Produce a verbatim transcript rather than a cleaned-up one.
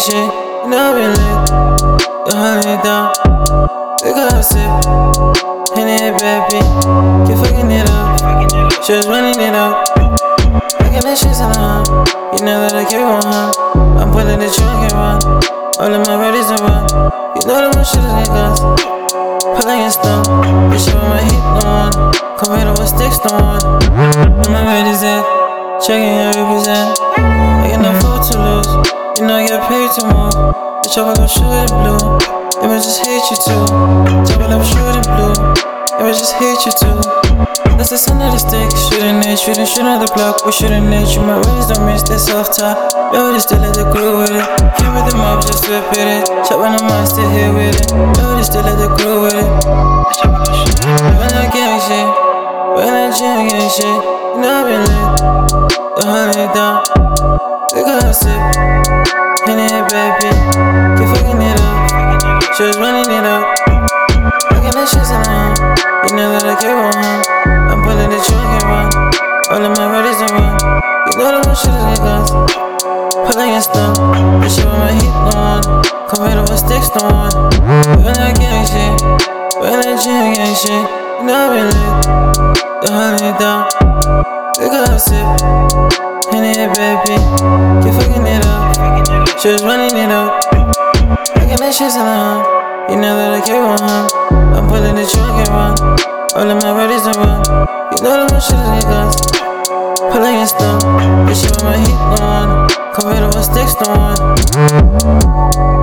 shit, you know I've been lit. You hold it down, we got a sip. Henny and baby, keep fucking it up. She was running it up, fucking that shit's on her. You know that I keep on her. I'm pulling the trunk and run. All of my readies to run. You know that my shit is guns. Pulling it stone, bitch, you with my heat no one. Come here with sticks no one. My ready's at, checking every percent. I got no food to lose. You know I get paid to move. Bitch, I gon' shoot it blue. They might just hate you too. Double up shooting blue. They might just hate you too. That's the son of the stick. Shooting it, shooting, shooting at the block. We shooting it, you my rings don't miss. They soft top. Yo, they still let the crew with it. Came with the mob, just whip with it. Chop on the mind, still here with it. Yo, they still let the crew with it. When I gang shit, when I jam gang shit, you know I've been lit. You hold it down, we got a sip. Henny and baby, keep fucking it up. She was running it up, fucking that shit's on her. You know that I keep on her. I'm pulling the trunk and run. All of my readies to run. You know that my shit is guns. Pulling it stone, bitch, you with my heat no one. Come here with sticks no one. When I gang shit, when I jam gang shit, you know I've been lit. You hold it down, we got a sip. Henny and baby, keep fucking it up. She was running it up, fucking that shit's on her. You know that I keep on her. I'm pulling the trunk and run. All of my readies to run. You know that my shit is guns. Pulling it stone, bitch, you with my heat no one. Come here with sticks no one.